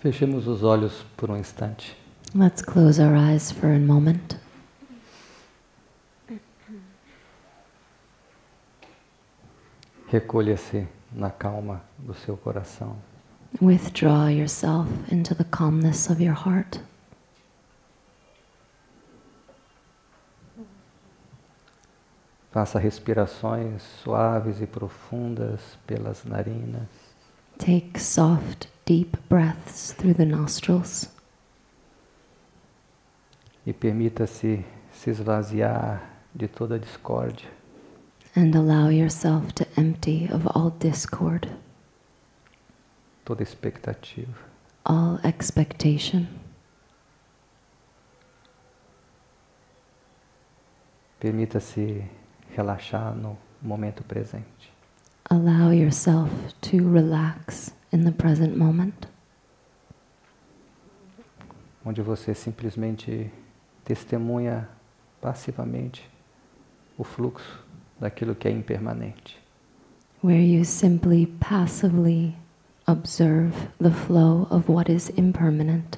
Fechemos os olhos por um instante. Let's close our eyes for a moment. Recolha-se na calma do seu coração. Withdraw yourself into the calmness of your heart. Faça respirações suaves e profundas pelas narinas. Take soft, deep breaths through the nostrils. E permita-se se esvaziar de toda a discórdia. And allow yourself to empty of all discord, Toda expectativa. all expectation. Permita-se relaxar no momento presente. Allow yourself to relax in the present moment, Onde você simplesmente testemunha passivamente o fluxo daquilo que é impermanente. where you simply passively observe the flow of what is impermanent.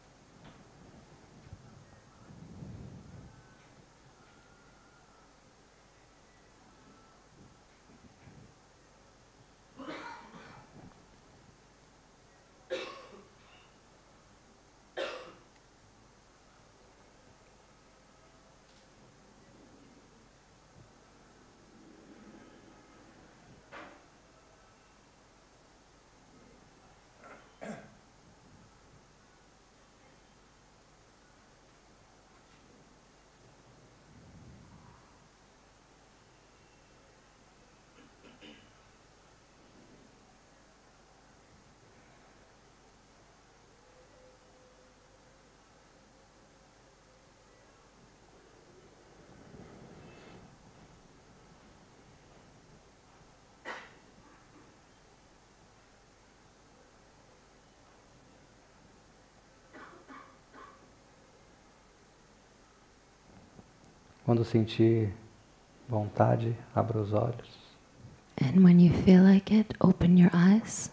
Quando sentir vontade, abra os olhos. And when you feel like it, open your eyes.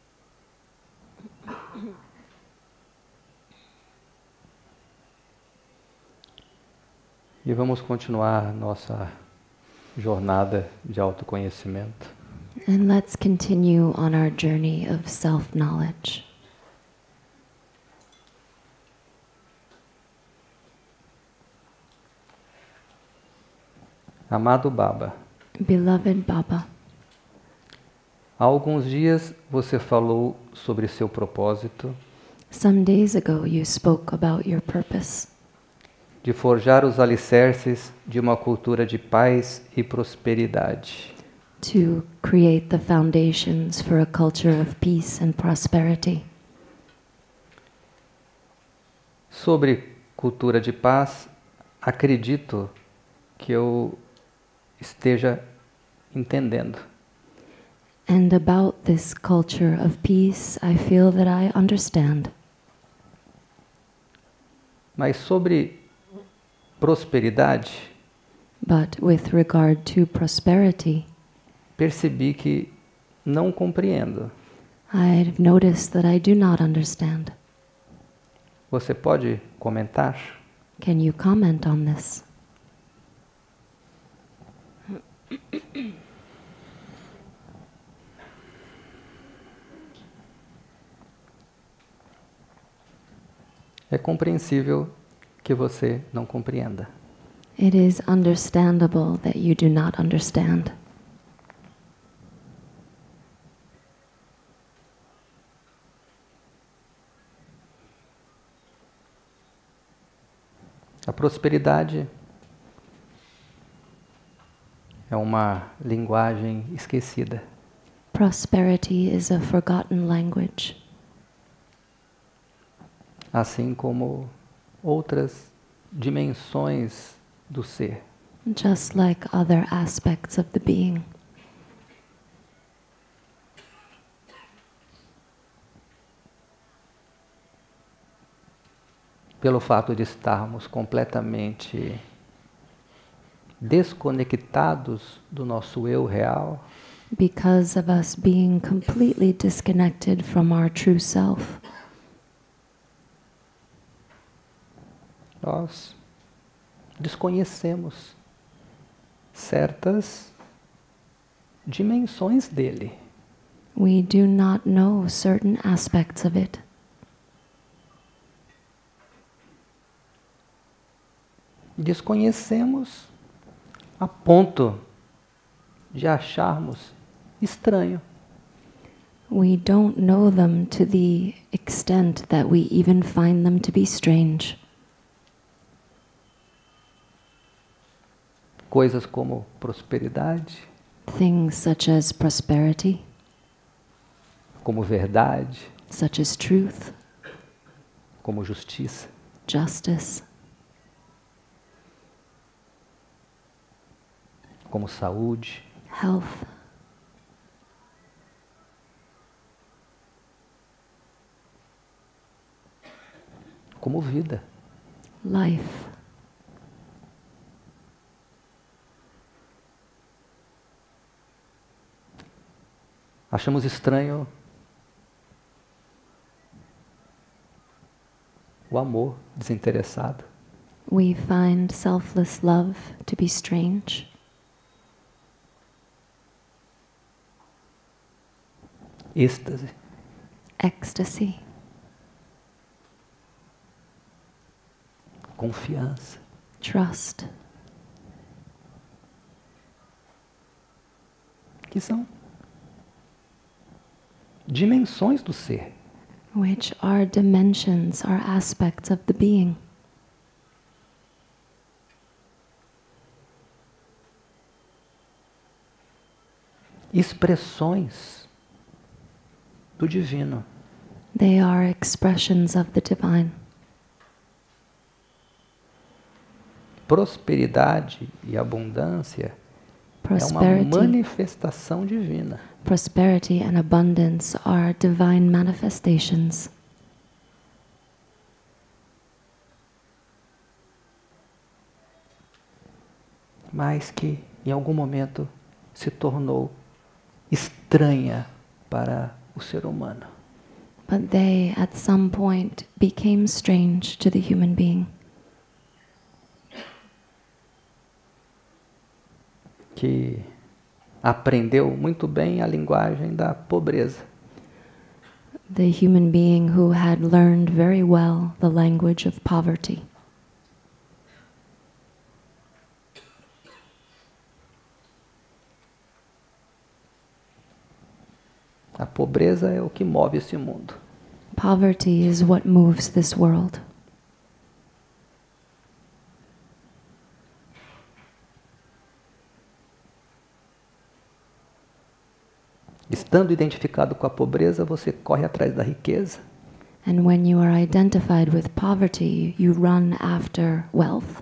E vamos continuar nossa jornada de autoconhecimento. And let's continue on our journey of self-knowledge. Amado Baba, Beloved Baba, há alguns dias você falou sobre seu propósito some days ago you spoke about your purpose de forjar os alicerces de uma cultura de paz e prosperidade. to create the foundations for a culture of peace and prosperity. Sobre cultura de paz, acredito que eu esteja entendendo. And about this culture of peace, I feel that I understand. Mas sobre prosperidade, But with regard to prosperity, percebi que não compreendo. I've noticed that I do not understand. Você pode comentar? Can you comment on this? É compreensível que você não compreenda. It is understandable that you do not understand. A prosperidade é uma linguagem esquecida. Prosperity is a forgotten language, Assim como outras dimensões do ser. just like other aspects of the being. Pelo fato de estarmos completamente desconectados do nosso eu real, Because of us being completely disconnected from our true self, Nós desconhecemos certas dimensões dele. We do not know certain aspects of it. Desconhecemos a ponto de acharmos estranho. We don't know them to the extent that we even find them to be strange. Coisas como prosperidade, Things such as prosperity, como verdade, such as truth, como justiça. justice, Como saúde, health, como vida. life. Achamos estranho o amor desinteressado. We find selfless love to be strange. Êxtase, Ecstasy, confiança. trust, Que são dimensões do ser. which are dimensions, are aspects of the being. Expressões do divino. They are expressions of the divine. Prosperidade e abundância é uma Prosperity, manifestação divina. prosperity and abundance are divine manifestations. Mas que em algum momento se tornou estranha para o ser humano. But they, at some point, became strange to the human being. Que aprendeu muito bem a linguagem da pobreza. The human being who had learned very well the language of poverty. A pobreza é o que move esse mundo. Poverty is what moves this world. Estando identificado com a pobreza, você corre atrás da riqueza. And when you are identified with poverty, you run after wealth.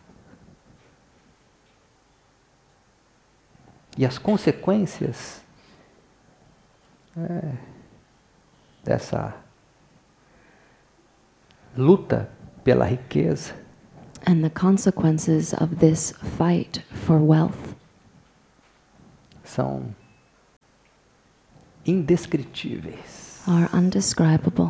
E as consequências dessa luta pela riqueza And the consequences of this fight for wealth são indescritíveis. are undescribable.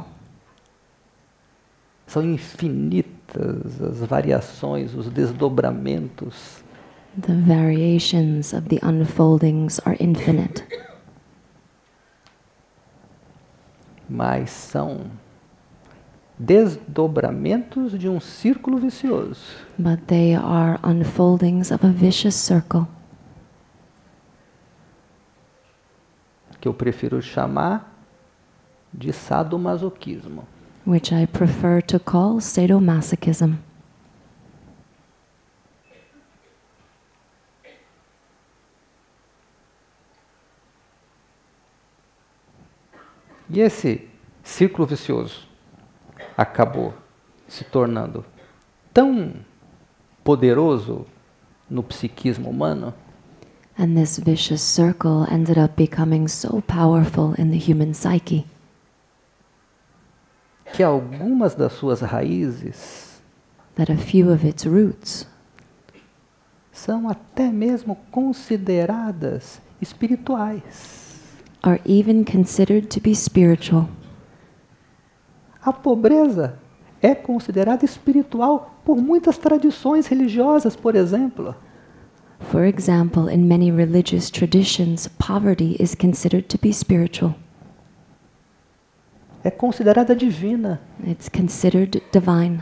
São infinitas as variações, os desdobramentos. The variations of the unfoldings are infinite, Mas são desdobramentos de um círculo vicioso. but they are unfoldings of a vicious circle Que eu prefiro chamar de sadomasoquismo. which I prefer to call sadomasochism. E esse círculo vicioso acabou se tornando tão poderoso no psiquismo humano And this vicious circle ended up becoming so powerful in the human psyche que algumas das suas raízes that a few of its roots são até mesmo consideradas espirituais. are even considered to be spiritual. A pobreza é considerada espiritual por muitas tradições religiosas, por exemplo. For example, in many religious traditions, poverty is considered to be spiritual. É considerada divina. It's considered divine.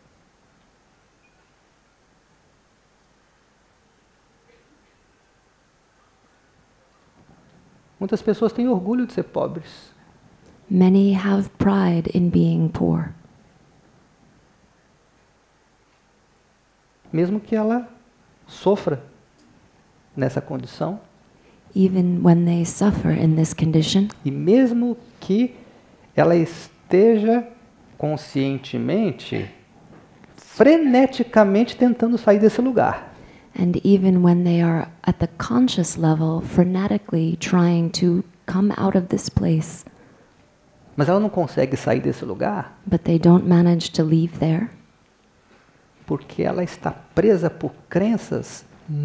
Muitas pessoas têm orgulho de ser pobres. Many have pride in being poor, Mesmo que ela sofra nessa condição, even when they suffer in this condition, e mesmo que ela esteja conscientemente, freneticamente tentando sair desse lugar. and even when they are at the conscious level, frenetically trying to come out of this place, Mas ela não consegue sair desse lugar but they don't manage to leave there porque ela está presa por crenças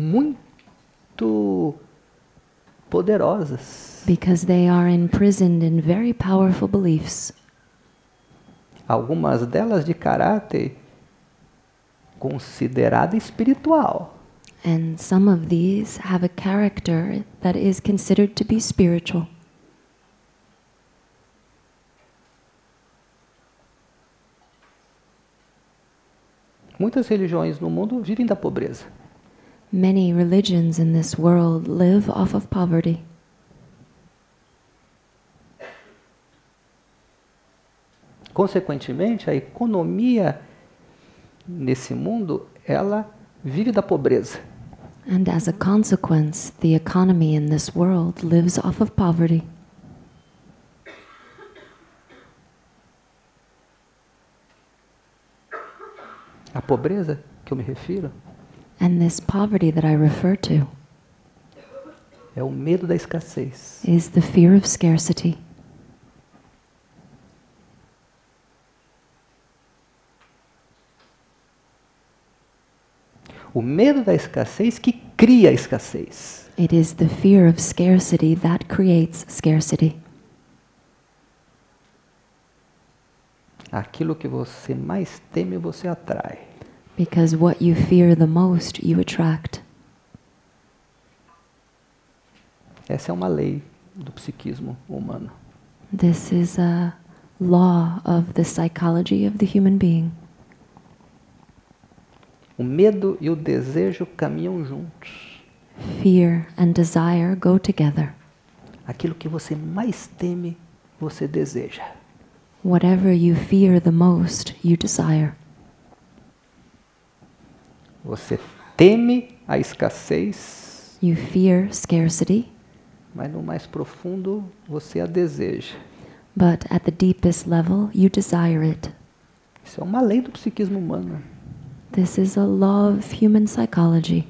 muito poderosas. because they are imprisoned in very powerful beliefs, Algumas delas de caráter considerado espiritual. and some of these have a character that is considered to be spiritual. Muitas religiões no mundo vivem da pobreza. Many religions in this world live off of poverty. Consequentemente, a economia nesse mundo, ela vive da pobreza. And as a consequence, the economy in this world lives off of poverty. A pobreza que eu me refiro And this poverty that I refer to é o medo da escassez. is the fear of scarcity. O medo da escassez que cria a escassez. It is the fear of scarcity that creates scarcity. Aquilo que você mais teme, você atrai. Because what you fear the most, you attract. Essa é uma lei do psiquismo humano. This is a law of the psychology of the human being. O medo e o desejo caminham juntos. Fear and desire go together. Aquilo que você mais teme, você deseja. Whatever you fear the most, you desire. Você teme a escassez, You fear scarcity, mas no mais profundo você a deseja. but at the deepest level, you desire it. Isso é uma lei do psiquismo humano. This is a law of human psychology,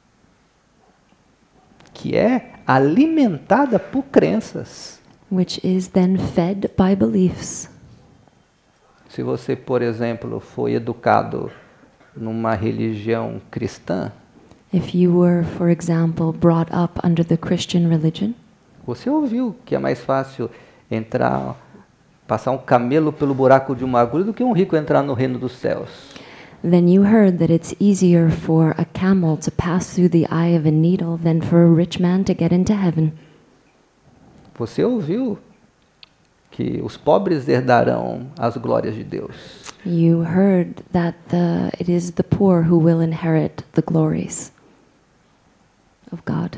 Que é alimentada por crenças. which is then fed by beliefs. Se você, por exemplo, foi educado numa religião cristã, If you were, for example, brought up under the Christian religion, você ouviu que é mais fácil entrar, passar um camelo pelo buraco de uma agulha do que um rico entrar no reino dos céus. then you heard that it's easier for a camel to pass through the eye of a needle than for a rich man to get into heaven. Você ouviu que os pobres herdarão as glórias de Deus. You heard that it is the poor who will inherit the glories of God.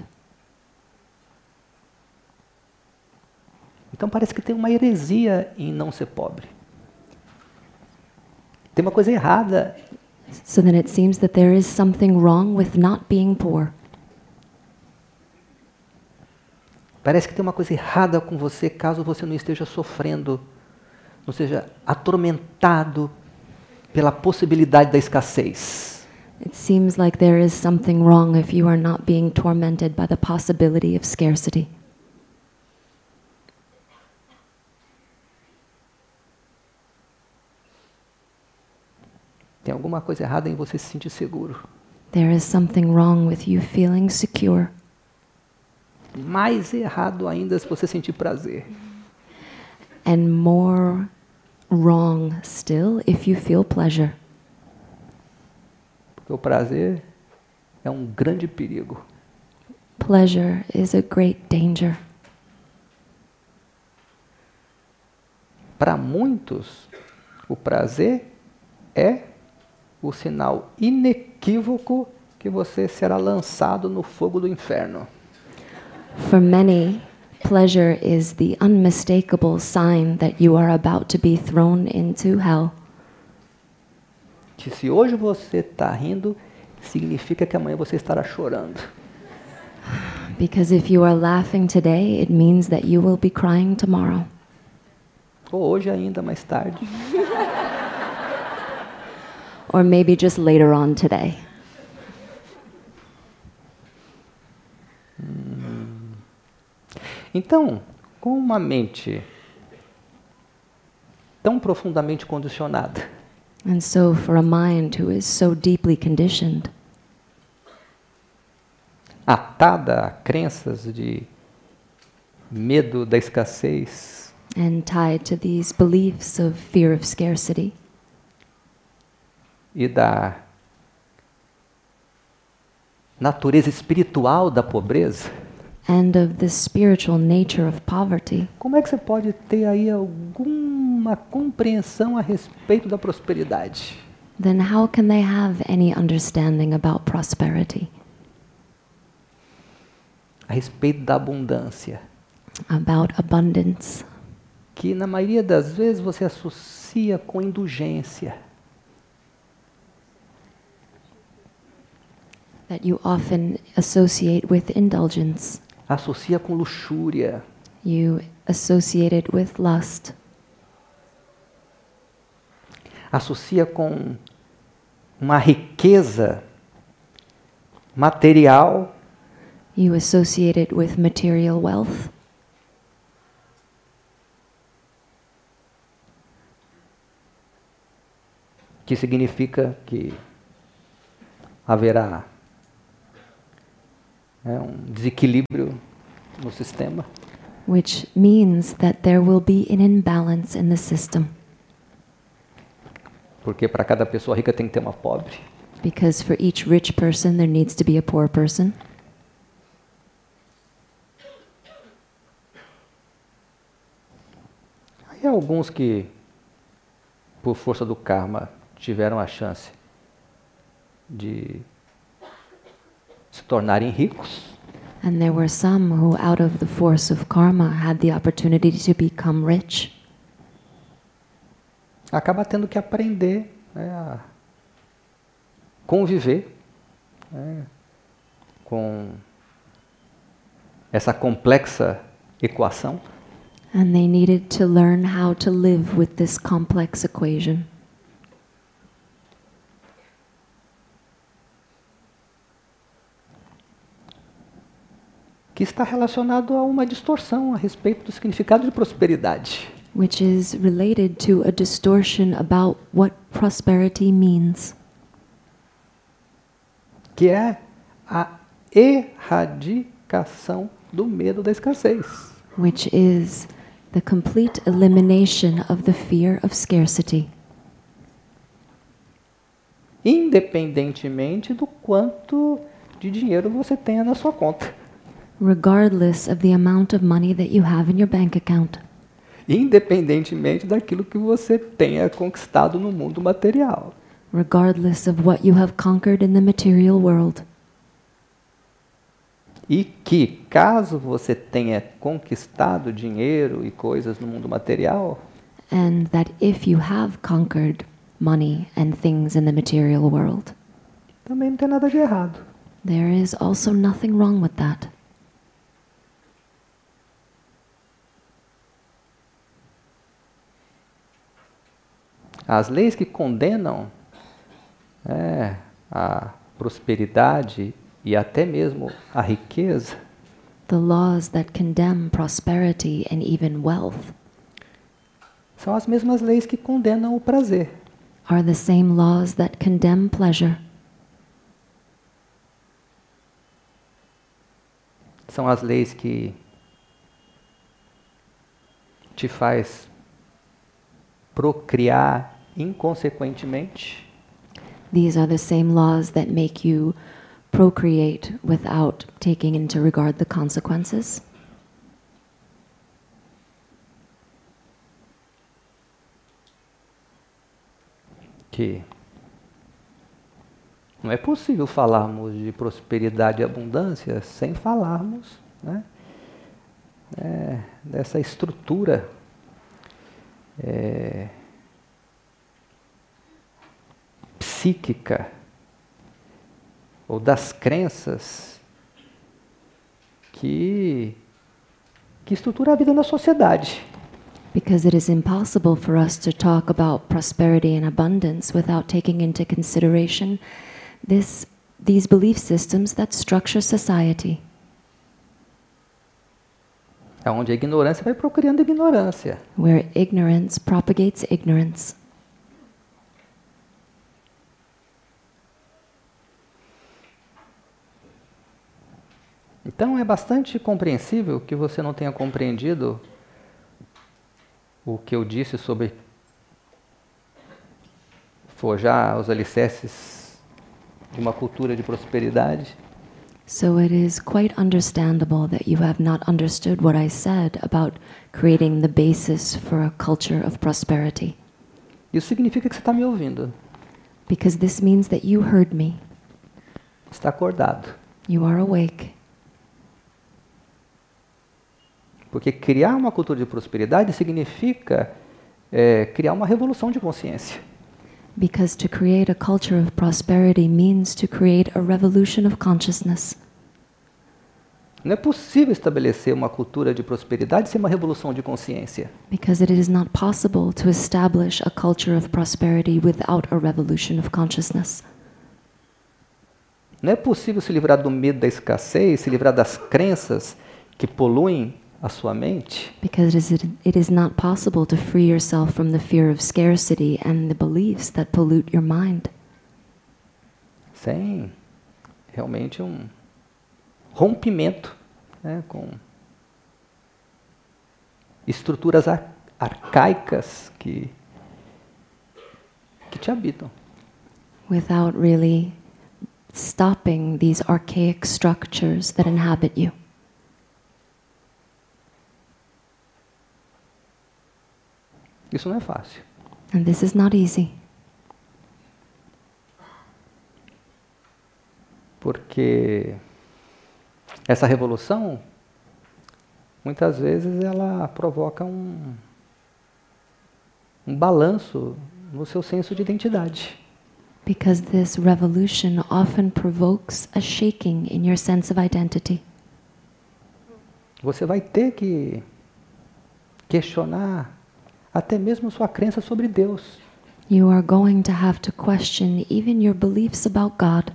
Então parece que tem uma heresia em não ser pobre. Tem uma coisa errada. So then it seems that there is something wrong with not being poor. Parece que tem uma coisa errada com você caso você não esteja sofrendo, não seja atormentado pela possibilidade da escassez. It seems like there is something wrong if you are not being tormented by the possibility of scarcity. Tem alguma coisa errada em você se sentir seguro. There is something wrong with you feeling secure. Mais errado ainda se você sentir prazer. And more wrong still if you feel pleasure. o prazer é um grande perigo. Pleasure is a great danger. Para muitos, o prazer é o sinal inequívoco que você será lançado no fogo do inferno. For many, pleasure is the unmistakable sign that you are about to be thrown into hell. Que se hoje você está rindo, significa que amanhã você estará chorando. Because if you are laughing today, it means that you will be crying tomorrow. Ou hoje ainda, mais tarde. Or maybe just later on today. Então, com uma mente tão profundamente condicionada, And so, for a mind who is so deeply conditioned, atada a crenças de medo da escassez, and tied to these beliefs of fear of scarcity, e da natureza espiritual da pobreza, and of the spiritual nature of poverty, como é que você pode ter aí alguma compreensão a respeito da prosperidade? then how can they have any understanding about prosperity, A respeito da abundância, about abundance, que na maioria das vezes você associa com indulgência, that you often associate with indulgence, associa com luxúria, you associate it with lust, associa com uma riqueza material you associate it with material wealth, que significa que haverá um desequilíbrio no sistema, which means that there will be an imbalance in the system, porque para cada pessoa rica tem que ter uma pobre. because for each rich person there needs to be a poor person. Aí alguns que, por força do karma, tiveram a chance de se tornarem ricos, And there were some who, out of the force of karma, had the opportunity to become rich. acaba tendo que aprender, né, a conviver, né, com essa complexa equação, And they needed to learn how to live with this complex equation, que está relacionado a uma distorção a respeito do significado de prosperidade. which is related to a distortion about what prosperity means, Que é a erradicação do medo da escassez. which is the complete elimination of the fear of scarcity, Independentemente do quanto de dinheiro você tenha na sua conta. regardless of the amount of money that you have in your bank account, Independentemente daquilo que você tenha conquistado no mundo material. regardless of what you have conquered in the material world. E que, caso você tenha conquistado dinheiro e coisas no mundo material, And that if you have conquered money and things in the material world, também não tem nada de errado. there is also nothing wrong with that. As leis que condenam a prosperidade e até mesmo a riqueza The laws that condemn prosperity and even wealth são as mesmas leis que condenam o prazer. are the same laws that condemn pleasure. São as leis que te faz procriar inconsequentemente, These are the same laws that make you procreate without taking into regard the consequences. Que não é possível falarmos de prosperidade e abundância sem falarmos, né, dessa estrutura psíquica ou das crenças que estrutura a vida na sociedade. Because it is impossible for us to talk about prosperity and abundance without taking into consideration these belief systems that structure society. Onde a ignorância vai procriando ignorância. Where ignorance propagates ignorance. Então é bastante compreensível que você não tenha compreendido o que eu disse sobre forjar os alicerces de uma cultura de prosperidade. So it is quite understandable that you have not understood what I said about creating the basis for a culture of prosperity. Isso significa que você está me ouvindo. Because this means that you heard me. Está acordado. You are awake. Porque criar uma cultura de prosperidade significa criar uma revolução de consciência. Because to create a culture of prosperity means to create a revolution of consciousness. Não é possível estabelecer uma cultura de prosperidade sem uma revolução de consciência. Because it is not possible to establish a culture of prosperity without a revolution of consciousness. Não é possível se livrar do medo da escassez, se livrar das crenças que poluem a sua mente. Because it is not possible to free yourself from the fear of scarcity and the beliefs that pollute your mind. Sem realmente um rompimento, né, com estruturas arcaicas que te habitam. Without really stopping these archaic structures that inhabit you. Isso não é fácil. And this is not easy. Porque essa revolução, muitas vezes, ela provoca um balanço no seu senso de identidade. Because this revolution often provokes a shaking in your sense of identity. Você vai ter que questionar até mesmo sua crença sobre Deus. You are going to have to question even your beliefs about God.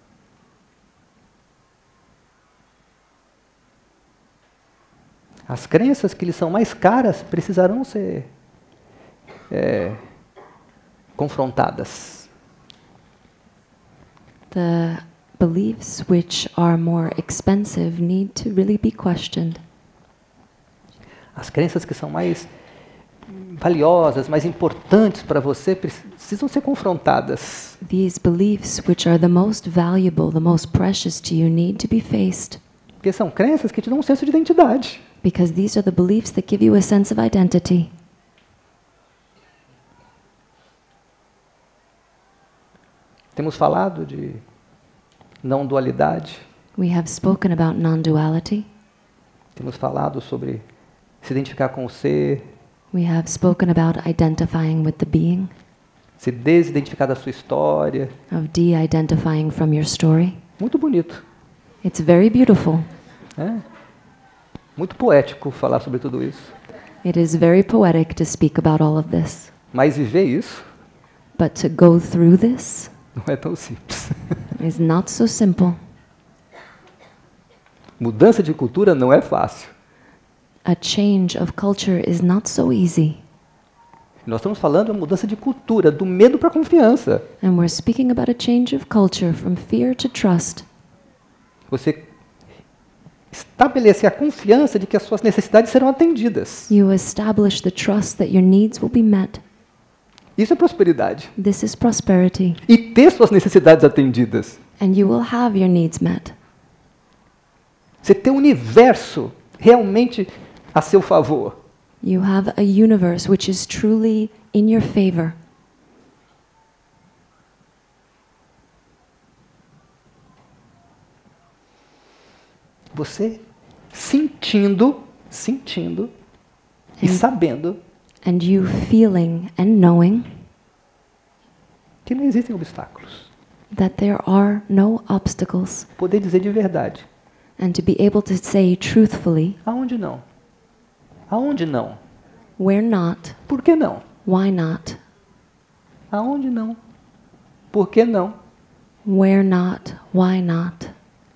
As crenças que lhe são mais caras precisarão ser confrontadas. The beliefs which are more expensive need to really be questioned. As crenças que são mais valiosas, mais importantes para você, precisam ser confrontadas. These beliefs which are the most valuable, the most precious to you need to be faced. Porque são crenças que te dão um senso de identidade. Because these are the beliefs that give you a sense of identity. Temos falado de não dualidade. We have spoken about non-duality. Temos falado sobre se identificar com o ser. We have spoken about identifying with the being. Se desidentificar da sua história. Of de-identifying from your story. Muito bonito. It's very beautiful. Muito poético falar sobre tudo isso. It is very poetic to speak about all of this. Mas viver isso But to go through this não é tão simples. is not so simple. Mudança de cultura não é fácil. A change of culture is not so easy. Nós estamos falando de mudança de cultura, do medo para a confiança. And we're speaking about a change of culture from fear to trust. Você estabelecer a confiança de que as suas necessidades serão atendidas. You establish the trust that your needs will be met. Isso é prosperidade. This is prosperity. E ter suas necessidades atendidas. And you will have your needs met. Você ter o universo realmente a seu favor. You have a universe which is truly in your favor. Você sentindo e sabendo And you feeling and knowing que não existem obstáculos. that there are no obstacles. Poder dizer de verdade. And to be able to say truthfully, Aonde não? Aonde não? where not, Por que não? why not, Aonde não? Por que não? where not, why not.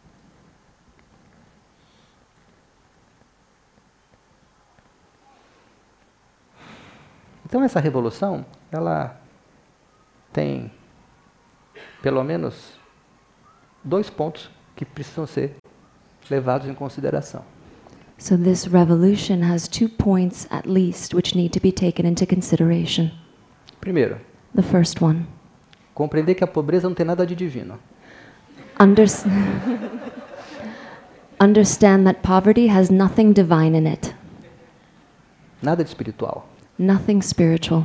Então essa revolução, ela tem pelo menos 2 pontos que precisam ser levados em consideração. So this revolution has 2 points at least which need to be taken into consideration. Primeiro, The first one, compreender que a pobreza não tem nada de divino. unders- understand that poverty has nothing divine in it, Nada de espiritual. nothing spiritual.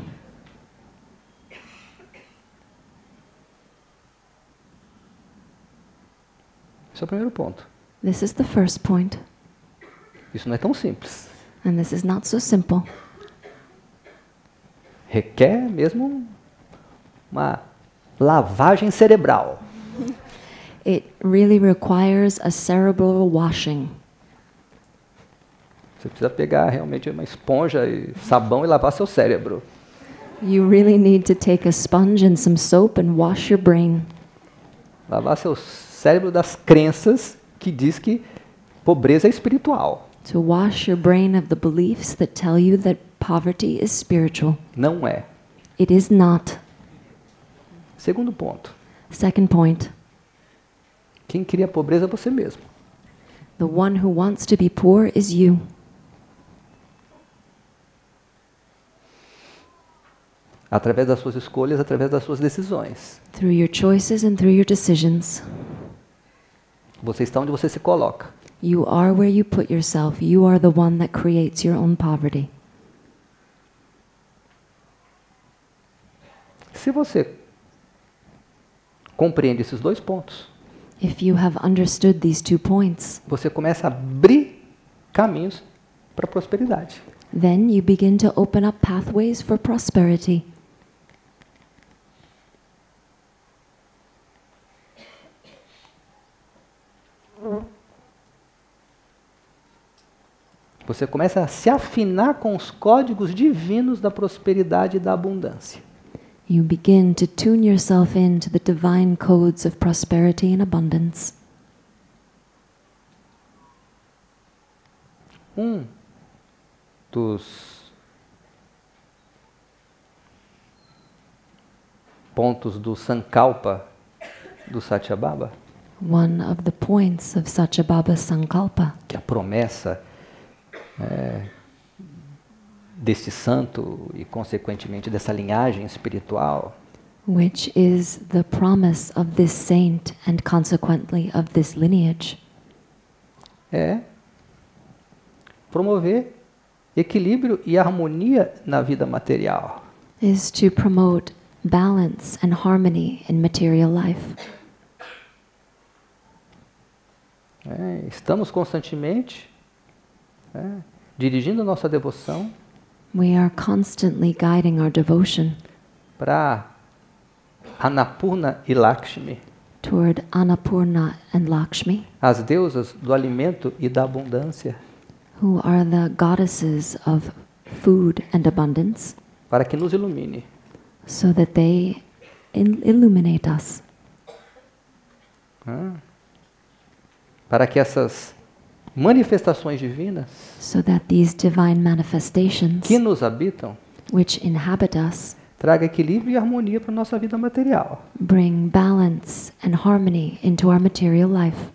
Esse é o primeiro ponto. This is the first point, Isso não é tão simples. and this is not so simple. Requer mesmo uma lavagem cerebral. It really requires a cerebral washing. Você precisa pegar realmente uma esponja e sabão e lavar seu cérebro. You really need to take a sponge and some soap and wash your brain. Lavar seu cérebro das crenças que diz que pobreza é espiritual. To wash your brain of the beliefs that tell you that poverty is spiritual. Não é. It is not. Segundo ponto. Second point, Quem cria a pobreza é você mesmo. the one who wants to be poor is you. Através das suas escolhas, através das suas decisões. Through your choices and through your decisions. Você está onde você se coloca. You are where you put yourself. You are the one that creates your own poverty. Se você compreende esses 2 pontos, If you have understood these 2 points, você começa a abrir caminhos para a prosperidade. then you begin to open up pathways for prosperity. Você começa a se afinar com os códigos divinos da prosperidade e da abundância. You begin to tune yourself into the divine codes of prosperity and abundance. Um dos pontos do Sankalpa do Satyabhama, One of the points of Satyabhama Sankalpa, que é a promessa deste santo e, consequentemente, dessa linhagem espiritual, which is the promise of this saint and consequently of this lineage, é promover equilíbrio e harmonia na vida material. is to promote balance and harmony in material life. Estamos constantemente dirigindo a nossa devoção We are constantly guiding our devotion para Annapurna e Lakshmi, toward Annapurna and Lakshmi, as deusas do alimento e da abundância, who are the goddesses of food and abundance, para que nos ilumine. so that they illuminate us, Para que essas manifestações divinas so that these divine manifestations que nos habitam which inhabit us traga equilíbrio e harmonia para a nossa vida material. bring balance and harmony into our material life.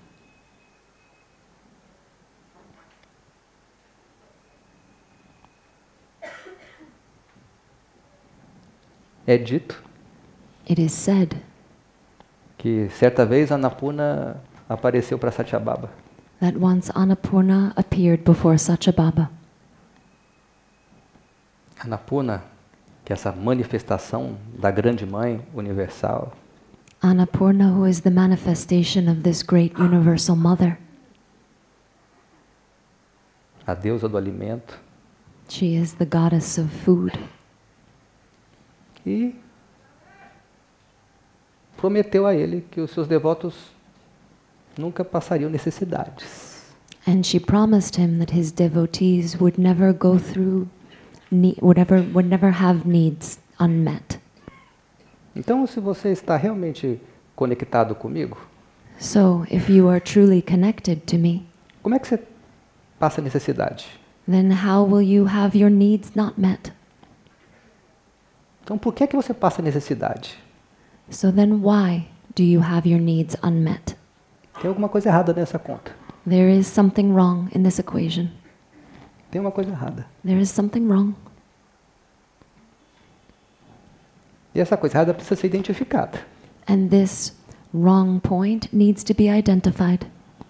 É dito It is said que certa vez Annapurna apareceu para Satyabhama. that once Annapurna appeared before Satyabhama. Annapurna, que é essa manifestação da grande mãe universal, Annapurna, who is the manifestation of this great universal mother. a deusa do alimento, She is the goddess of food. e prometeu a ele que os seus devotos nunca passariam necessidades. And she promised him that his devotees would never go through, would never have needs unmet. Então, se você está realmente conectado comigo, So, if you are truly connected to me, como é que você passa necessidade? then how will you have your needs not met? Então, por que é que você passa necessidade? So then why do you have your needs unmet? Tem alguma coisa errada nessa conta. There is something wrong in this equation. Tem uma coisa errada. There is something wrong. E essa coisa errada precisa ser identificada. And this wrong point needs to be identified.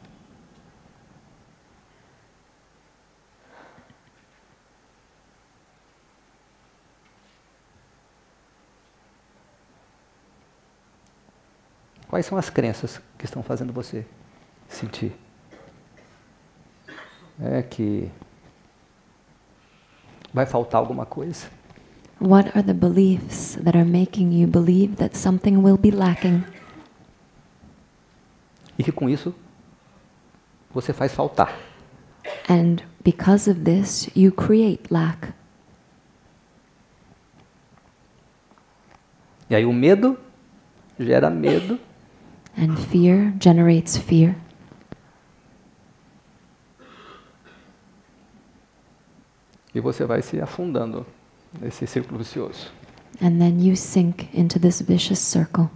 Quais são as crenças que estão fazendo você sentir? É que vai faltar alguma coisa. What are the beliefs that are making you believe that something will be lacking? E que com isso você faz faltar. And because of this, you create lack. E aí o medo gera medo. And fear generates fear. E você vai se afundando nesse círculo vicioso. And then you sink into this vicious circle.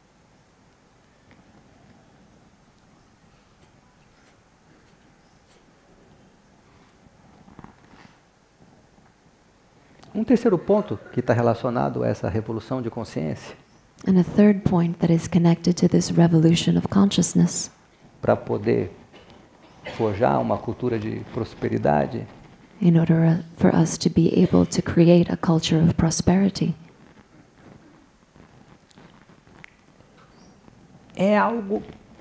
Um terceiro ponto que está relacionado a essa revolução de consciência, And a third point that is connected to this revolution of consciousness, para poder forjar uma cultura de prosperidade, in order for us to be able to create a culture of prosperity, é algo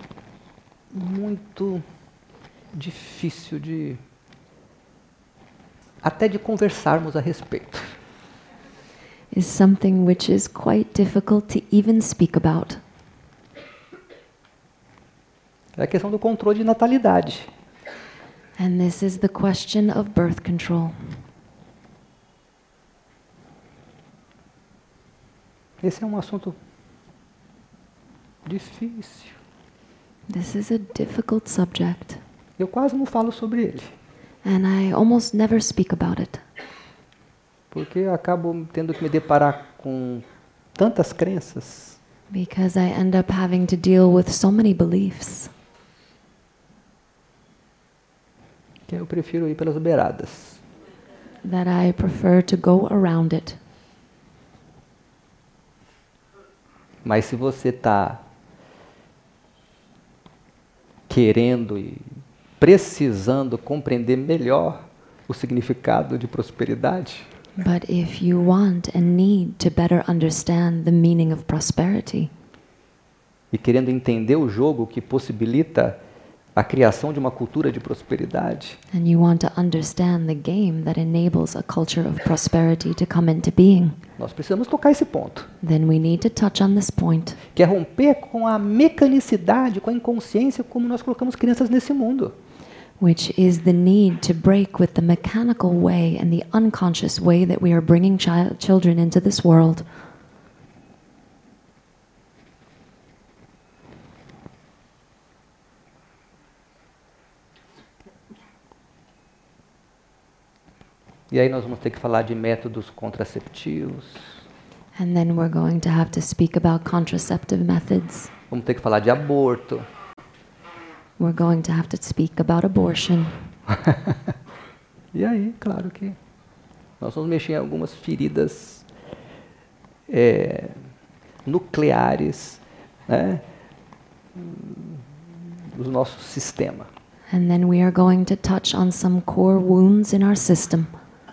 muito difícil de até de conversarmos a respeito. is something which is quite difficult to even speak about. É a questão do controle de natalidade. And this is the question of birth control. Esse é um assunto difícil. This is a difficult subject, Eu quase não falo sobre ele, and I almost never speak about it, porque eu acabo tendo que me deparar com tantas crenças because I end up having to deal with so many beliefs que eu prefiro ir pelas beiradas. that I prefer to go around it. Mas se você está querendo e precisando compreender melhor o significado de prosperidade, But if you want and need to better understand the meaning of prosperity, e querendo entender o jogo que possibilita a criação de uma cultura de prosperidade, and you want to understand the game that enables a culture of prosperity to come into being, nós precisamos tocar esse ponto, then we need to touch on this point, que é romper com a mecanicidade, com a inconsciência como nós colocamos crianças nesse mundo. which is the need to break with the mechanical way and the unconscious way that we are bringing children into this world. E aí nós vamos ter que falar de métodos contraceptivos, And then we're going to have to speak about contraceptive methods. vamos ter que falar de aborto. We're going to have to speak about abortion. E aí, claro que nós vamos mexer em algumas feridas nucleares, né, do nosso sistema. And then we are going to touch on some core wounds in our system.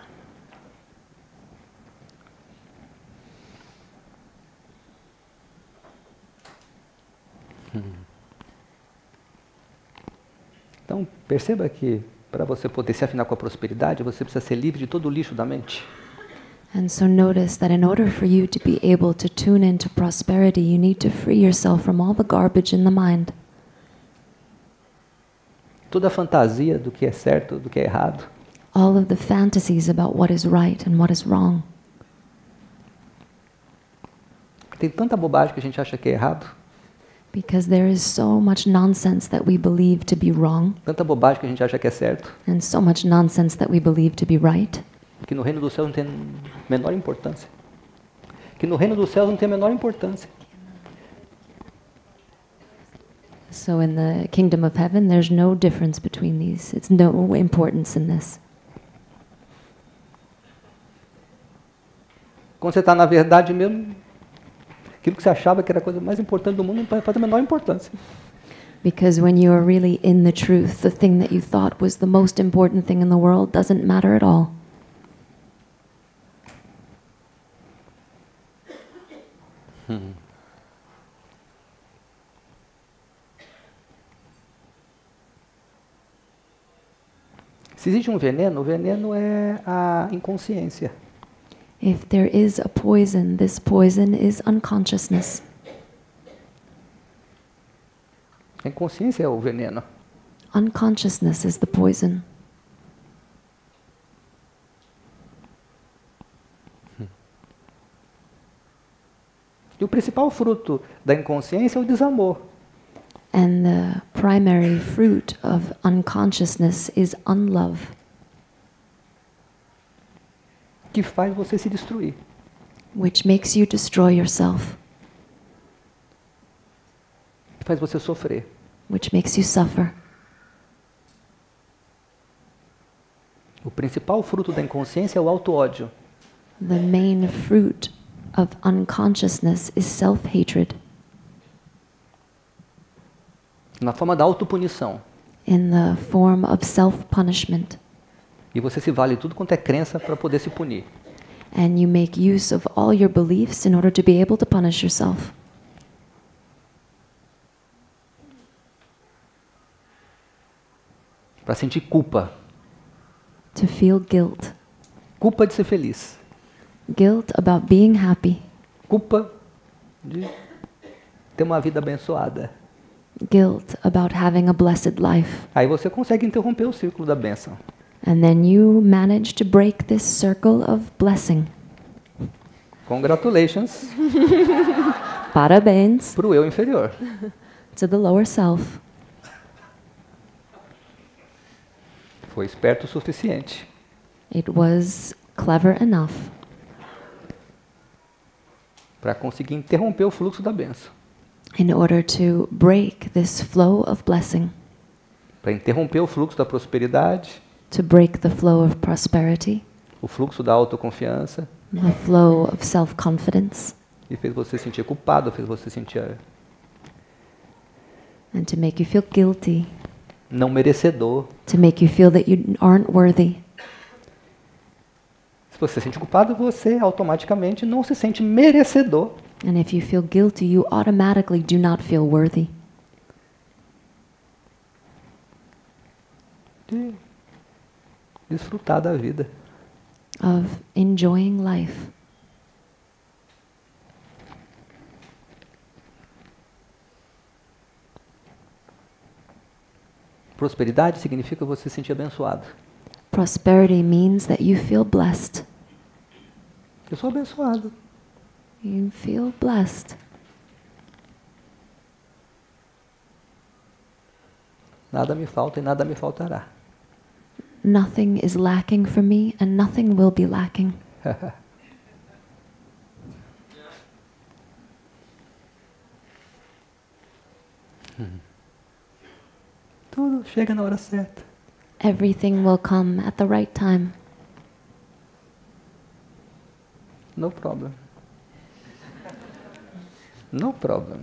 Então, perceba que para você poder se afinar com a prosperidade, você precisa ser livre de todo o lixo da mente. And so notice that in order for you to be able to tune into prosperity, you need to free yourself from all the garbage in the mind. Toda a fantasia do que é certo, do que é errado. All of the fantasies about what is right and what is wrong. Tem tanta bobagem que a gente acha que é errado. Because there is so much nonsense that we believe to be wrong, Tanta bobagem que a gente acha que é certo. and so much nonsense that we believe to be right, Que no reino do céu não tem a menor importância. Que no reino do céu não tem a menor importância. so in the kingdom of heaven there's no difference between these. It's no importance in this. Quando você está na verdade mesmo, aquilo que você achava que era a coisa mais importante do mundo não faz a menor importância. Because when you are really in the truth, the thing that you thought was the most important thing in the world doesn't matter at all. Se existe um veneno, o veneno é a inconsciência. If there is a poison, this poison is unconsciousness. A inconsciência é o veneno. Unconsciousness is the poison. E o principal fruto da inconsciência é o desamor. And the primary fruit of unconsciousness is unlove, Que faz você se destruir. which makes you destroy yourself, Que faz você sofrer. which makes you suffer. O principal fruto da inconsciência é o auto-ódio. The main fruit of unconsciousness is self-hatred Na forma da autopunição. in the form of self-punishment. E você se vale de tudo quanto é crença para poder se punir. And you make use of all your beliefs in order to be able to punish yourself. Para sentir culpa. To feel guilt. Culpa de ser feliz. Guilt about being happy. Culpa de ter uma vida abençoada. Guilt about having a blessed life. Aí você consegue interromper o círculo da bênção. And then you manage to break this circle of blessing. Congratulations Parabéns para o eu inferior. to the lower self. Foi esperto o suficiente. It was clever enough Para conseguir interromper o fluxo da bênção. in order to break this flow of blessing, Para interromper o fluxo da prosperidade, to break the flow of prosperity, o fluxo da autoconfiança, the flow of self-confidence, e fez você sentir culpado, fez você sentir and to make you feel guilty, não merecedor. to make you feel that you aren't worthy. Se você se sente culpado, você automaticamente não se sente merecedor. And if you feel guilty, you automatically do not feel worthy De desfrutar da vida. of enjoying life. Prosperidade significa você se sentir abençoado. Prosperity means that you feel blessed. Eu sou abençoado. You feel blessed. Nada me falta e nada me faltará. Nothing is lacking for me and nothing will be lacking. Tudo chega na hora certa. Everything will come at the right time. No problem. No problem.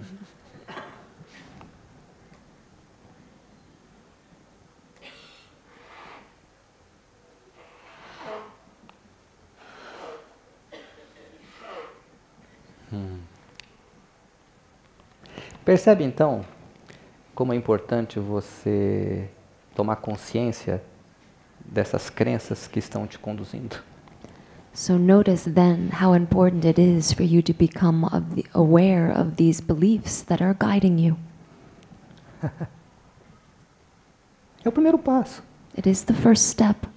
Percebe então como é importante você tomar consciência dessas crenças que estão te conduzindo. So notice then how important it is for you to become aware of these beliefs that are guiding you. É o primeiro passo. It is the first step.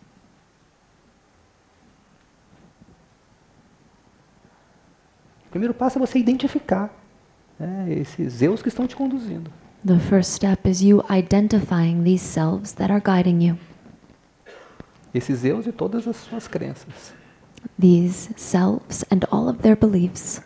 O primeiro passo é você identificar esses eus que estão te conduzindo. The first step is you identifying these selves that are guiding you. Esses eus e todas as suas crenças. These selves and all of their beliefs.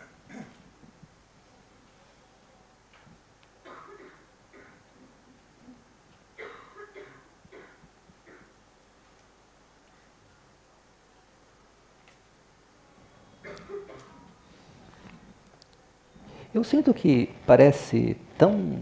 Eu sinto que parece tão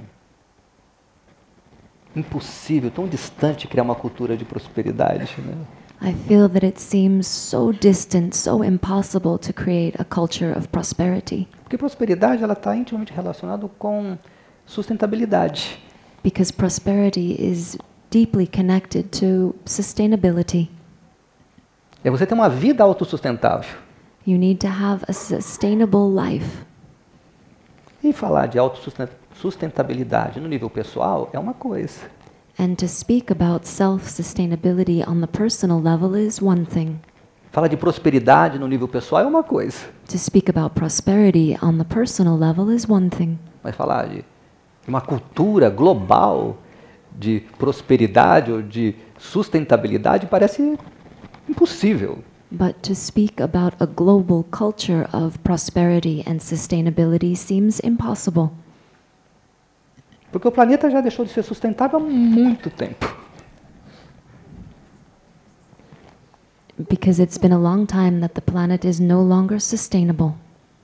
impossível, tão distante criar uma cultura de prosperidade, né? I feel that it seems so distant, so impossible to create a culture of prosperity. Porque prosperidade ela está intimamente relacionada com sustentabilidade. Because prosperity is deeply connected to sustainability. É você ter uma vida autossustentável. You need to have a sustainable life. E falar de autossustentabilidade no nível pessoal é uma coisa. And to speak about self-sustainability on the personal level is one thing. Falar de prosperidade no nível pessoal é uma coisa. To speak about prosperity on the personal level is one thing. Mas falar de uma cultura global de prosperidade ou de sustentabilidade parece impossível. But to speak about a global culture of prosperity and sustainability seems impossible. Porque o planeta já deixou de ser sustentável há muito tempo. Because it's been a long time that the planet is no longer sustainable.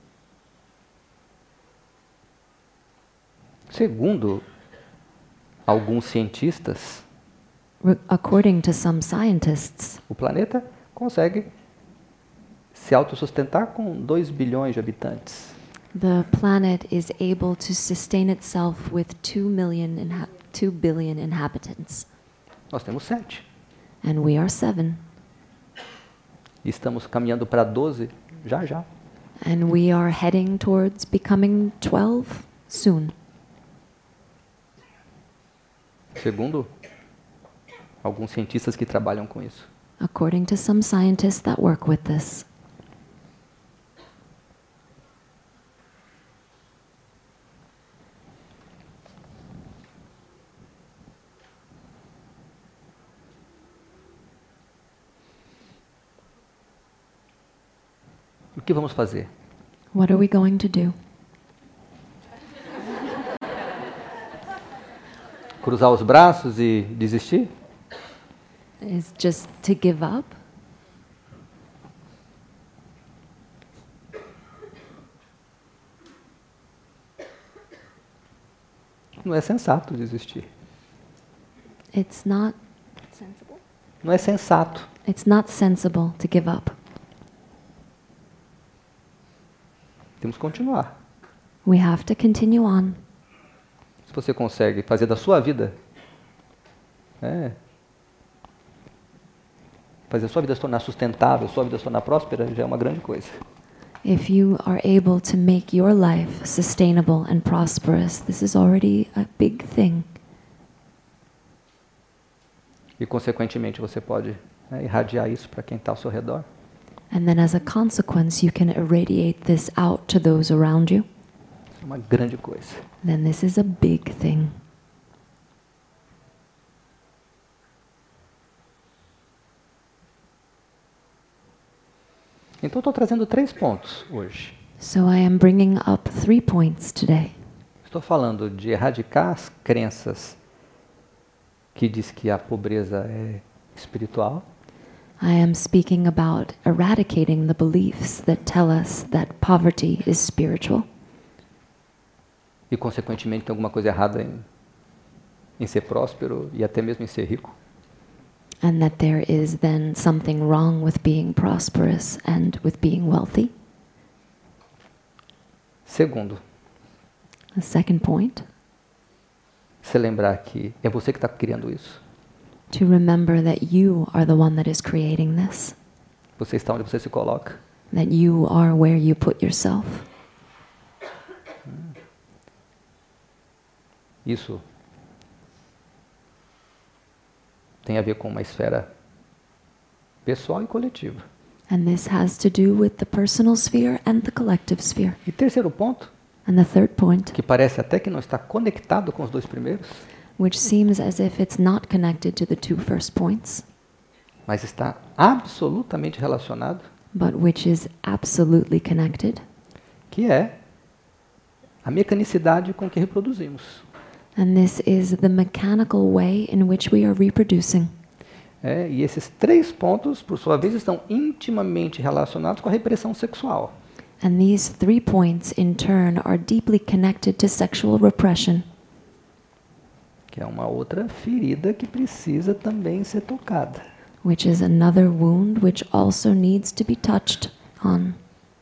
Segundo alguns cientistas, According to some scientists, o planeta consegue se autossustentar com 2 bilhões de habitantes. the planet is able to sustain itself with 2 billion inhabitants. Nós temos 7. And we are 7. E estamos caminhando para 12 já já. And we are heading towards becoming 12 soon. Segundo alguns cientistas que trabalham com isso. According to some scientists that work with this. O que vamos fazer? What are we going to do? Cruzar os braços e desistir? Is just to give up? Não é sensato desistir. It's not sensible. Não é sensato. It's not sensible to give up. Temos que continuar. We have to continue on. Se você consegue fazer da sua vida, fazer a sua vida se tornar sustentável, a sua vida se tornar próspera, já é uma grande coisa. If you are able to make your life sustainable and prosperous, this is already a big thing. E, consequentemente, você pode irradiar isso para quem está ao seu redor. And then as a consequence, you can irradiate this out to those around you. É uma grande coisa. Then this is a big thing. Então, estou trazendo 3 pontos hoje. So I am bringing up 3 points today. Estou falando de erradicar as crenças que diz que a pobreza é espiritual. I am speaking about eradicating the beliefs that tell us that poverty is spiritual. e consequentemente tem alguma coisa errada em ser próspero e até mesmo em ser rico. And that there is then something wrong with being prosperous and with being wealthy. Segundo, The second point, você lembrar que é você que está criando isso. to remember that you are the one that is creating this, Você está onde você se coloca. that you are where you put yourself. Isso tem a ver com uma esfera pessoal e coletiva. And this has to do with the personal sphere and the collective sphere. E terceiro ponto, And the third point, que parece até que não está conectado com os dois primeiros, which seems as if it's not connected to the two first points, mas está absolutamente relacionado, but which is absolutely connected, que é a mecanicidade com que reproduzimos. and this is the mechanical way in which we are reproducing. E esses três pontos, por sua vez, estão intimamente relacionados com a repressão sexual. And these 3 points, in turn, are deeply connected to sexual repression, Que é uma outra ferida que precisa também ser tocada. which is another wound which also needs to be touched on.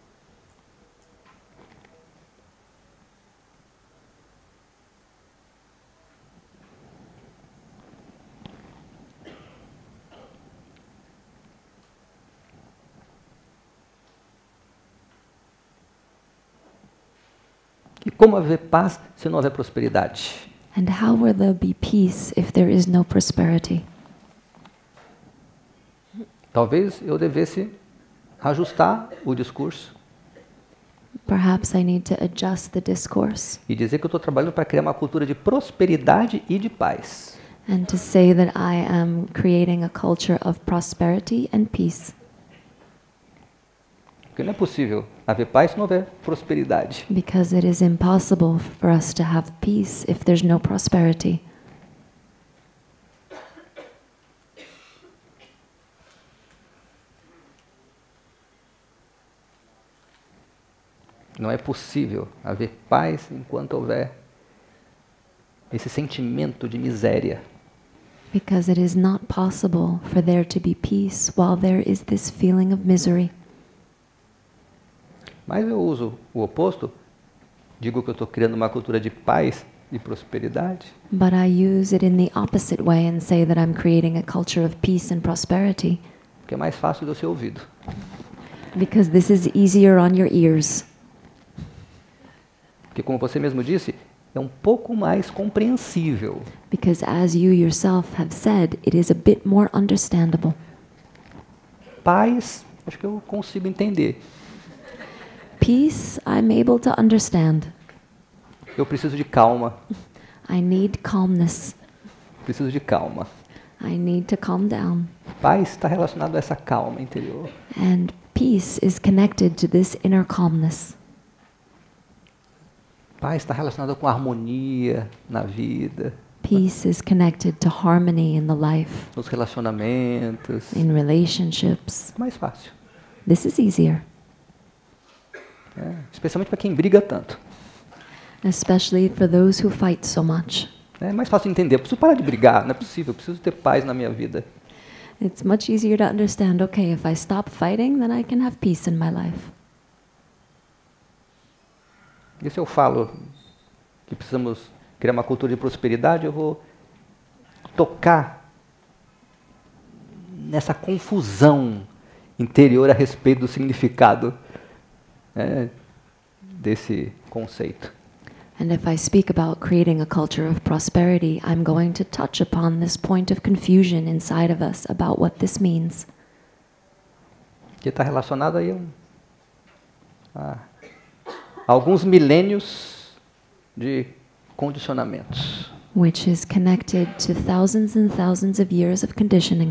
E como haver paz se não houver prosperidade? And how will there be peace if there is no prosperity? Talvez eu devesse ajustar o discurso Perhaps I need to adjust the discourse e dizer que eu estou trabalhando para criar uma cultura de prosperidade e de paz. and to say that I am creating a culture of prosperity and peace. Porque não é possível haver paz se não houver prosperidade. Because it is impossible for us to have peace if there's no prosperity. Não é possível haver paz enquanto houver esse sentimento de miséria. Because it is not possible for there to be peace while there is this feeling of misery. Mas eu uso o oposto, digo que eu estou criando uma cultura de paz e prosperidade, But I use it in the opposite way and say that I'm creating a culture of peace and prosperity porque é mais fácil de eu ser ouvido. because this is easier on your ears. Porque, como você mesmo disse, é um pouco mais compreensível. Because as you yourself have said, it is a bit more understandable. Paz, acho que eu consigo entender. Peace, I'm able to understand. Eu preciso de calma. I need calmness. Preciso de calma. I need to calm down. Paz está relacionado a essa calma interior. And peace is connected to this inner calmness. Paz está relacionado com harmonia na vida, Peace is connected to harmony in the life, nos relacionamentos. in relationships. É mais fácil. This is easier, Especialmente para quem briga tanto. especially for those who fight so much. É mais fácil de entender. Eu preciso parar de brigar, não é possível. Eu preciso ter paz na minha vida. It's much easier to understand, okay, if I stop fighting, then I can have peace in my life. E se eu falo que precisamos criar uma cultura de prosperidade, eu vou tocar nessa confusão interior a respeito do significado desse conceito. And if I speak about creating a culture of prosperity, I'm going to touch upon this point of confusion inside of us about what this means. Que está relacionado aí a alguns milênios de condicionamentos. Which is connected to thousands and thousands of years of conditioning.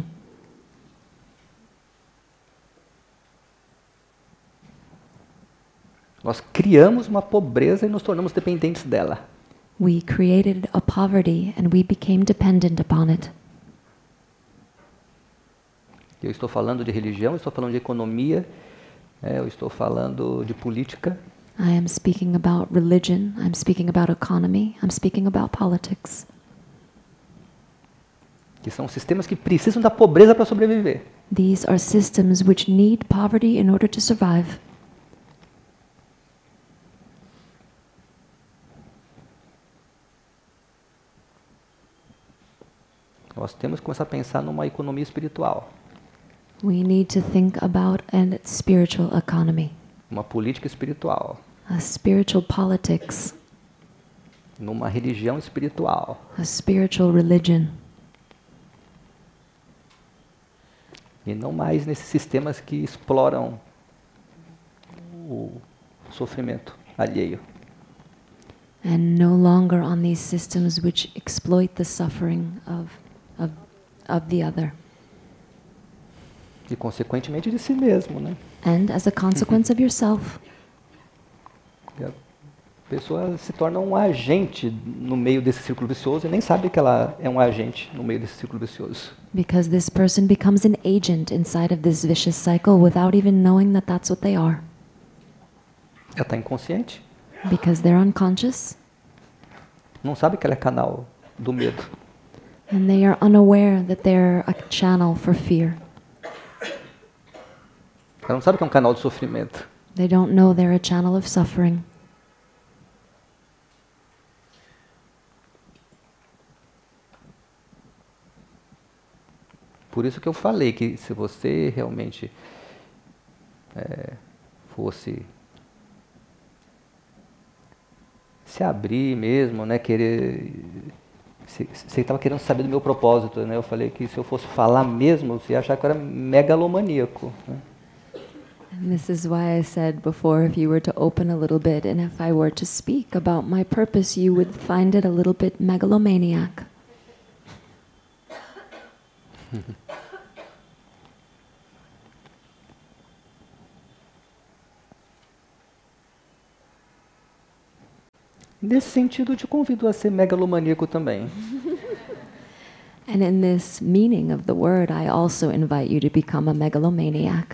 Nós criamos uma pobreza e nos tornamos dependentes dela. We created a poverty and we became dependent upon it. Eu estou falando de religião, eu estou falando de economia, eu estou falando de política, I am speaking about religion, I'm speaking about economy, I'm speaking about politics. Que são sistemas que precisam da pobreza para sobreviver. These are systems which need poverty in order to survive. Nós temos que começar a pensar numa economia espiritual, We need to think about a spiritual economy, uma política espiritual, a spiritual politics, numa religião espiritual. a spiritual religion, E não mais nesses sistemas que exploram o sofrimento alheio. and no longer on these systems which exploit the suffering of the other. E consequentemente de si mesmo, né? And as a consequence of yourself, E a pessoa se torna um agente no meio desse círculo vicioso e nem sabe que ela é um agente no meio desse círculo vicioso. because this person becomes an agent inside of this vicious cycle without even knowing that that's what they are. Ela está inconsciente, Because they're unconscious não sabe que ela é canal do medo. and they are unaware that they're a channel for fear. Ela não sabe que é um canal de sofrimento. They don't know they're a channel of suffering. Por isso que eu falei que se você realmente fosse se abrir mesmo, né, querer... Você estava querendo saber do meu propósito, né? Eu falei que se eu fosse falar mesmo, você ia achar que eu era megalomaníaco, né? And this is why I said before, if you were to open a little bit and if I were to speak about my purpose, you would find it a little bit megalomaniac. Nesse sentido, eu te convido a ser megalomaníaco também. And in this meaning of the word, I also invite you to become a megalomaniac.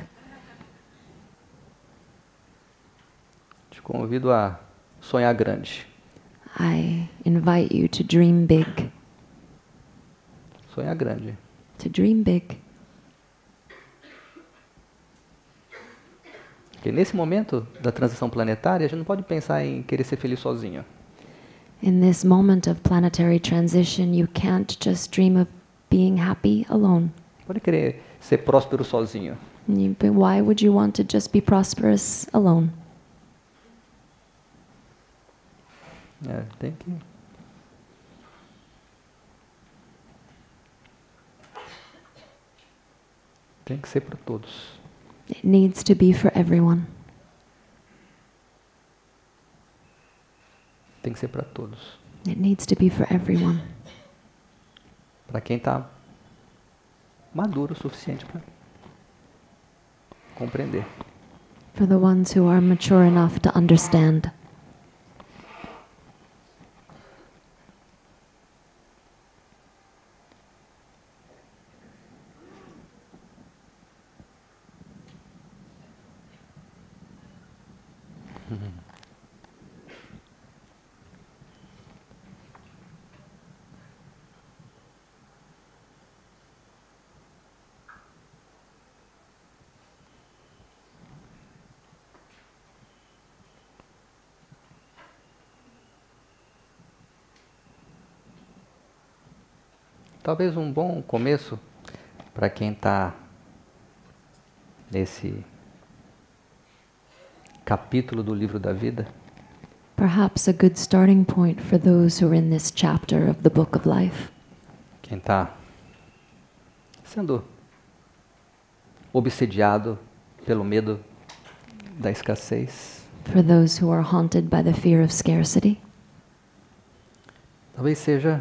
Te convido a sonhar grande. I invite you to dream big. Sonhar grande. To dream big. Porque nesse momento da transição planetária, a gente não pode pensar em querer ser feliz sozinho. In this moment of planetary transition, you can't just dream of being happy alone. Pode querer ser próspero sozinho. Why would you want to just be prosperous alone? Tem que... Tem que ser para todos. It needs to be for everyone. Tem que ser para todos. It needs to be for everyone. Para quem está maduro o suficiente para compreender. For the ones who are mature enough to understand. Talvez um bom começo para quem está nesse capítulo do livro da vida Perhaps a good starting point for those who are in this chapter of the Book of Life. quem está sendo obsediado pelo medo da escassez. For those who are haunted by the fear of scarcity. Talvez seja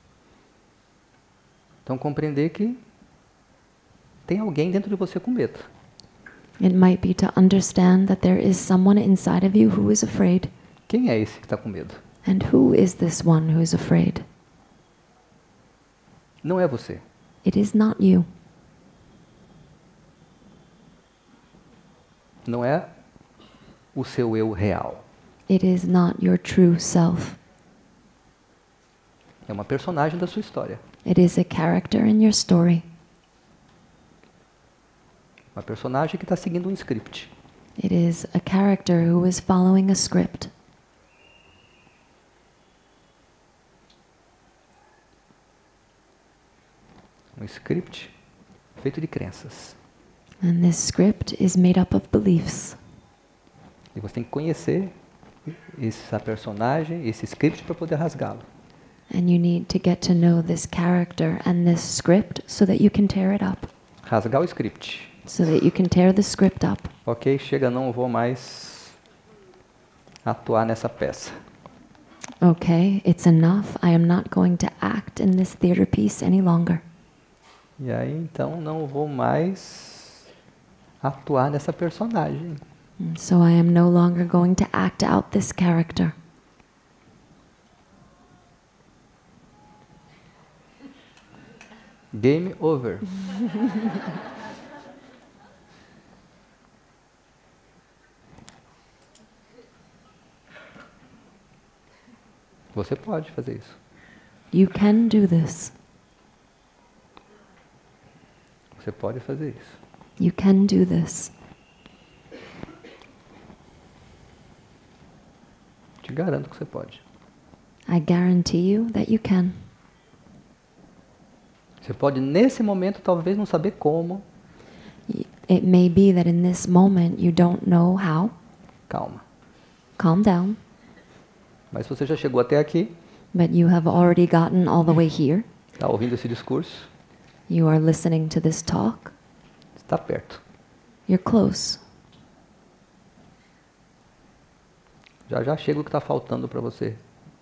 então compreender que tem alguém dentro de você com medo. It might be to understand that there is someone inside of you who is afraid. Quem é esse que está com medo? And who is this one who is afraid? Não é você. It is not you. Não é o seu eu real. It is not your true self. É uma personagem da sua história. It is a character in your story. Uma personagem que está seguindo um script. It is a character who is following a script. Um script feito de crenças. And this script is made up of beliefs. E você tem que conhecer essa personagem, esse script para poder rasgá-lo. And you need to get to know this character and this script so that you can tear it up. Rasgar o script. So that you can tear the script up. Ok, chega, não vou mais atuar nessa peça. Okay, it's enough. I am not going to act in this theater piece any longer. E aí, então, não vou mais atuar nessa personagem. And so I am no longer going to act out this character. Game over. Você pode fazer isso. You can do this. Você pode fazer isso. You can do this. Te garanto que você pode. I guarantee you that you can. Você pode, nesse momento, talvez não saber como. It may be that in this moment you don't know how. Calma. Calm down. Mas você já chegou até aqui. But you have already gotten all the way here. Está ouvindo esse discurso. You are listening to this talk. Está perto. You're close. Já já chega o que está faltando para você.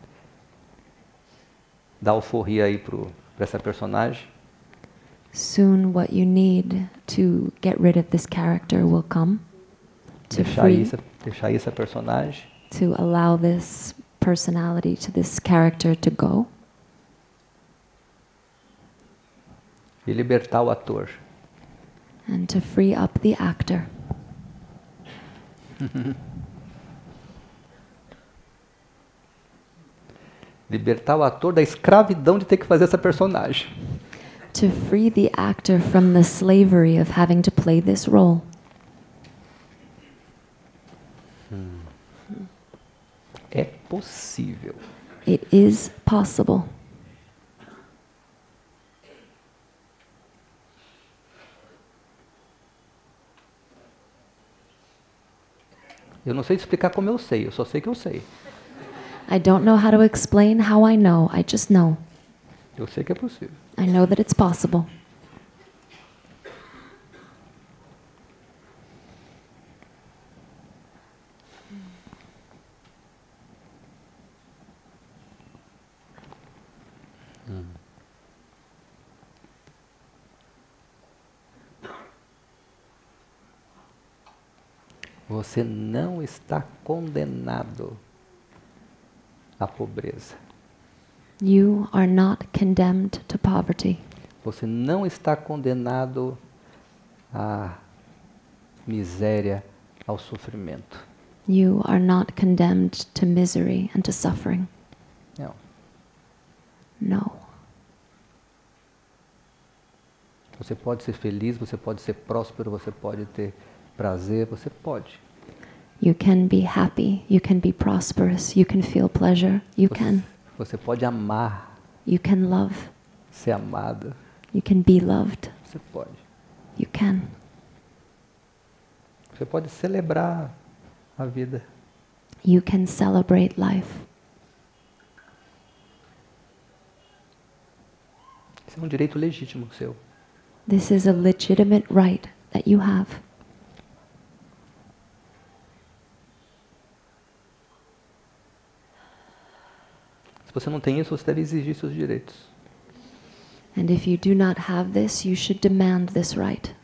Dar alforria aí para essa personagem. Soon what you need to get rid of this character will come. To Deixar aí essa personagem. To allow this personality, to this character to go. E libertar o ator. And to free up the actor. Libertar o ator da escravidão de ter que fazer essa personagem. To free the actor from the slavery of having to play this role. É possível. It is possible. Eu não sei te explicar como eu sei, eu só sei que eu sei. I don't know how to explain how I know. I just know. Eu sei que é possível. I know that it's possible. Você não está condenado à pobreza. You are not condemned to poverty. Você não está condenado à miséria, ao sofrimento. You are not condemned to misery and to suffering. Não. No. Você pode ser feliz, você pode ser próspero, você pode ter prazer, você pode. You can be happy, you can be prosperous, you can feel pleasure, you can. Você pode amar, You can love, ser amada, you can be loved, você pode. you can. Você pode celebrar a vida. You can celebrate life. Isso é um direito legítimo seu. This is a legitimate right that you have. Se você não tem isso, você deve exigir seus direitos. And if you do not have this, you should demand this right.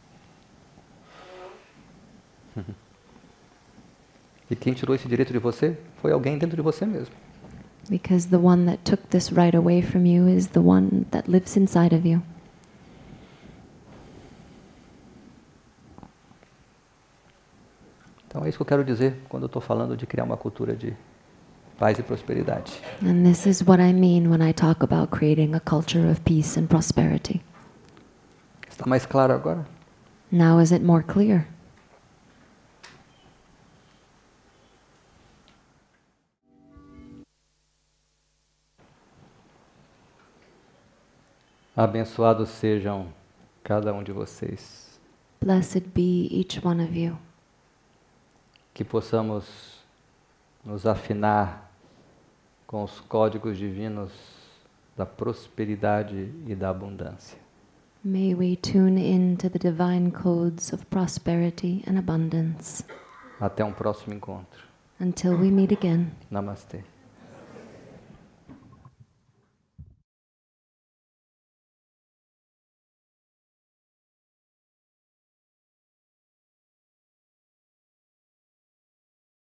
E quem tirou esse direito de você foi alguém dentro de você mesmo. Because the one that took this right away from you is the one that lives inside of you. Então isso que eu quero dizer quando eu estou falando de criar uma cultura de paz e prosperidade. And this is what I mean when I talk about creating a culture of peace and prosperity. Está mais claro agora? Now is it more clear? Abençoados sejam cada um de vocês. Blessed be each one of you. Que possamos nos afinar com os códigos divinos da prosperidade e da abundância. May we tune in to the divine codes of prosperity and abundance. Até um próximo encontro. Until we meet again. Namastê.